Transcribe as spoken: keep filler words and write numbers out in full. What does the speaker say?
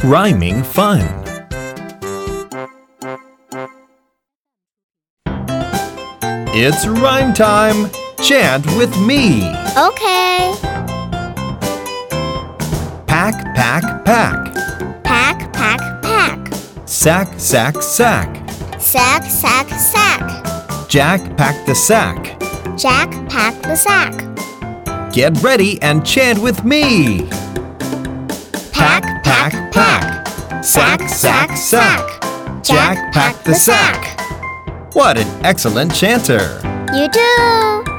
Rhyming fun. It's rhyme time. Chant with me. Okay. Pack, pack, pack. Pack, pack, pack. Sack, sack, sack. Sack, sack, sack. Jack packed the sack. Jack packed the sack. Get ready and chant with me. Pack, pack, pack. Sack, sack, sack. Jack packed the sack. What an excellent chanter! You too!